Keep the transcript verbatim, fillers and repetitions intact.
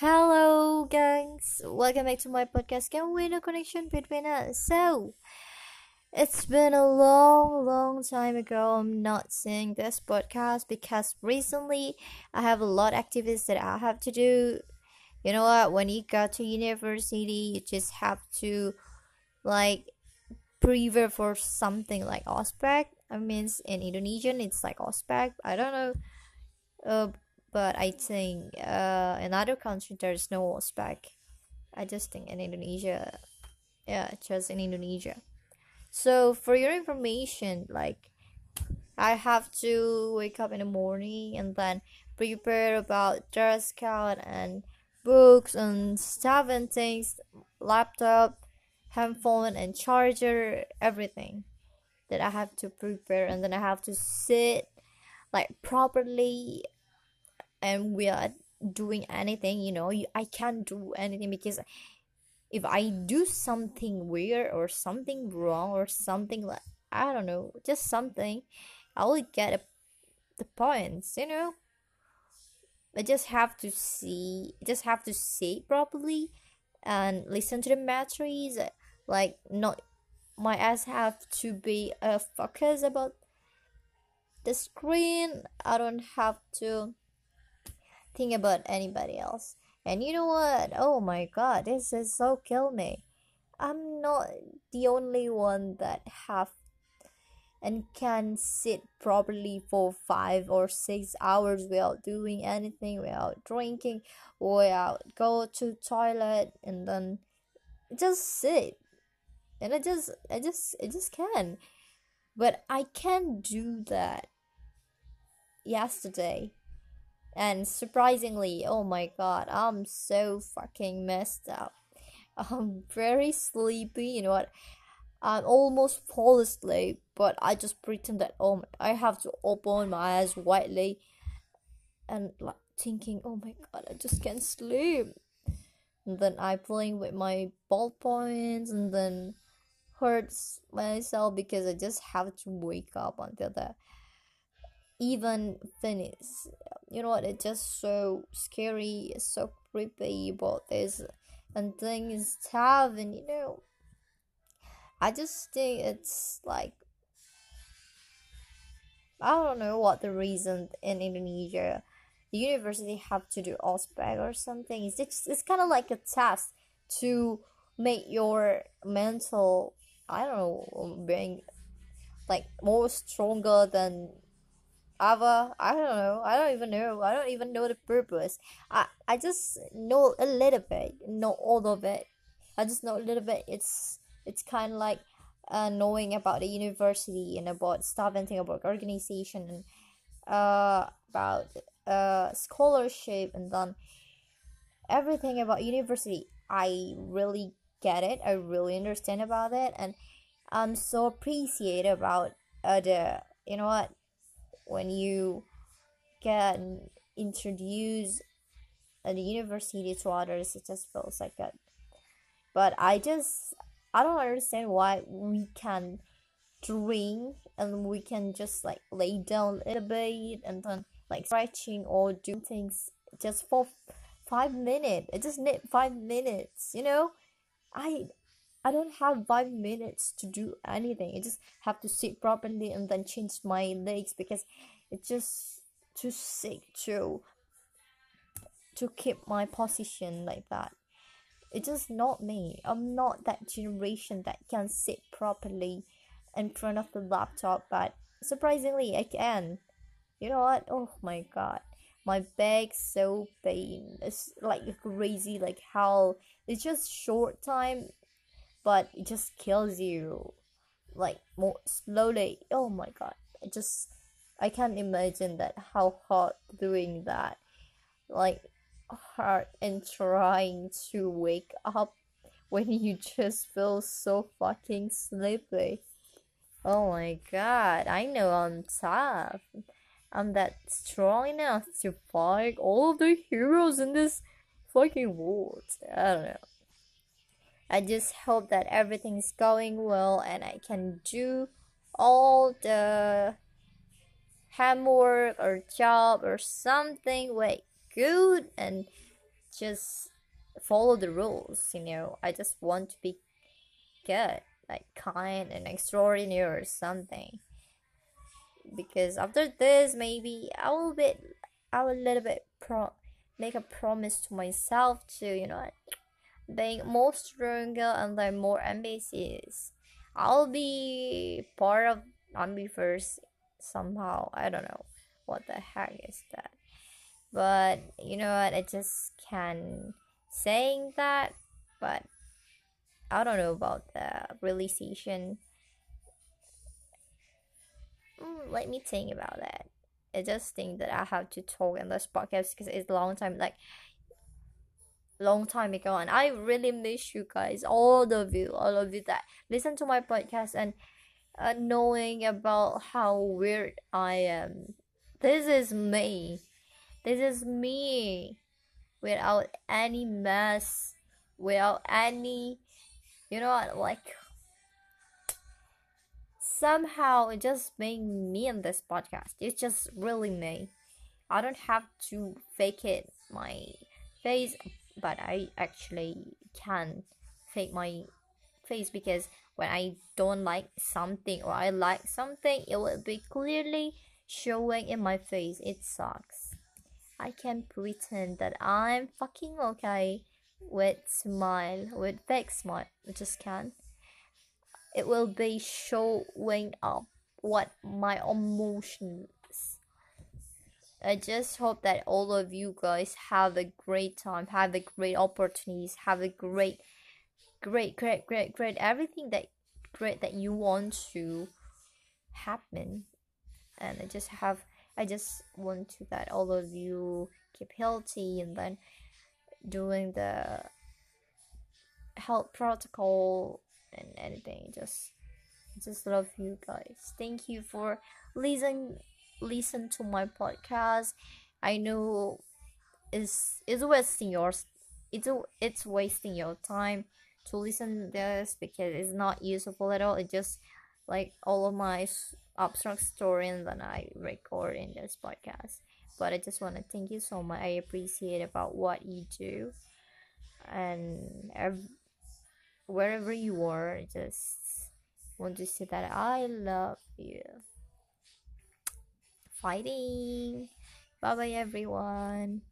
Hello, gangs. Welcome back to my podcast. Can we no connection between us? So, it's been a long, long time ago. I'm not seeing this podcast because recently I have a lot of activities that I have to do. You know what? When you go to university, you just have to like prepare for something like ospek. I mean, in Indonesian, it's like ospek. I don't know. Uh, but I think uh, in other countries there's no ospek. I just think in Indonesia, yeah, just in Indonesia. So for your information, like I have to wake up in the morning and then prepare about dress code and books and stuff and things, laptop, handphone and charger, everything that I have to prepare, and then I have to sit like properly and we are doing anything, you know, you, I can't do anything because if I do something weird or something wrong or something like I don't know, just something, I will get a, the points, you know. I just have to see, just have to see properly and listen to the matrices. Like not my eyes have to be a uh, focus about the screen. I don't have to think about anybody else. And you know what? Oh my god, this is so kill me. I'm not the only one that have and can sit properly for five or six hours without doing anything, without drinking, without go to toilet and then just sit. And I just I just I just can. But I can't do that yesterday. And surprisingly, oh my god, I'm so fucking messed up. I'm very sleepy, you know what? I almost fall asleep, but I just pretend that oh my, I have to open my eyes widely and like thinking, oh my god, I just can't sleep. And then I playing with my ballpoints and then hurts myself because I just have to wake up until the even finish. You know what? It's just so scary, so creepy about this and things tough, and you know, I just think it's like I don't know what the reason in Indonesia the university have to do ospec or something. It's just, it's kind of like a test to make your mental I don't know being like more stronger than Ava, I don't know. I don't even know. I don't even know the purpose. I I just know a little bit, not all of it. I just know a little bit. It's it's kind of like uh, knowing about the university and about stuff and thing about organization and uh about uh scholarship and then everything about university. I really get it. I really understand about it, and I'm so appreciate about uh, the you know what when you can introduce a university to others, it just feels like that. But I just I don't understand why we can drink and we can just like lay down a little bit and then like stretching or do things just for five minutes. I just need five minutes, you know. I I don't have five minutes to do anything. I just have to sit properly and then change my legs because it's just too sick to to keep my position like that. It's just not me. I'm not that generation that can sit properly in front of the laptop, but surprisingly I can. You know what? Oh my god. My back's so pain. It's like crazy, like how it's just short time, but it just kills you like more slowly. Oh my god. I just I can't imagine that how hard doing that. Like hard and trying to wake up when you just feel so fucking sleepy. Oh my god, I know I'm tough. I'm that strong enough to fight all of the heroes in this fucking world. I don't know. I just hope that everything's going well and I can do all the homework or job or something way good and just follow the rules, you know. I just want to be good, like kind and extraordinary or something. Because after this, maybe I will be, I will a little bit pro make a promise to myself to, you know, being more stronger and then more ambitious. I'll be part of Ambiverse somehow. I don't know what the heck is that. But you know what? I just can saying that, but I don't know about the realization. Mm, let me think about that. I just think that I have to talk in this podcast because it's a long time, like long time ago, and I really miss you guys, all of you, all of you that listen to my podcast and uh, knowing about how weird I am. This is me. This is me without any mess, without any, you know, like somehow it just being me in this podcast. It's just really me. I don't have to fake it my face, but I actually can fake my face because when I don't like something or I like something, it will be clearly showing in my face. It sucks. I can pretend that I'm fucking okay with smile, with fake smile. I just can't. It will be showing up what my emotions. I just hope that all of you guys have a great time, have a great opportunities, have a great, great, great, great, great everything that great that you want to happen. And I just have, I just want to that all of you keep healthy and then doing the health protocol and anything. Just, just love you guys. Thank you for listening listen to my podcast. I know it's it's wasting yours. It's it's wasting your time to listen to this because it's not useful at all. It just like all of my abstract story and then I record in this podcast. But I just want to thank you so much. I appreciate about what you do, and ev- wherever you are, I just want to say that I love you. Fighting. Bye bye, everyone.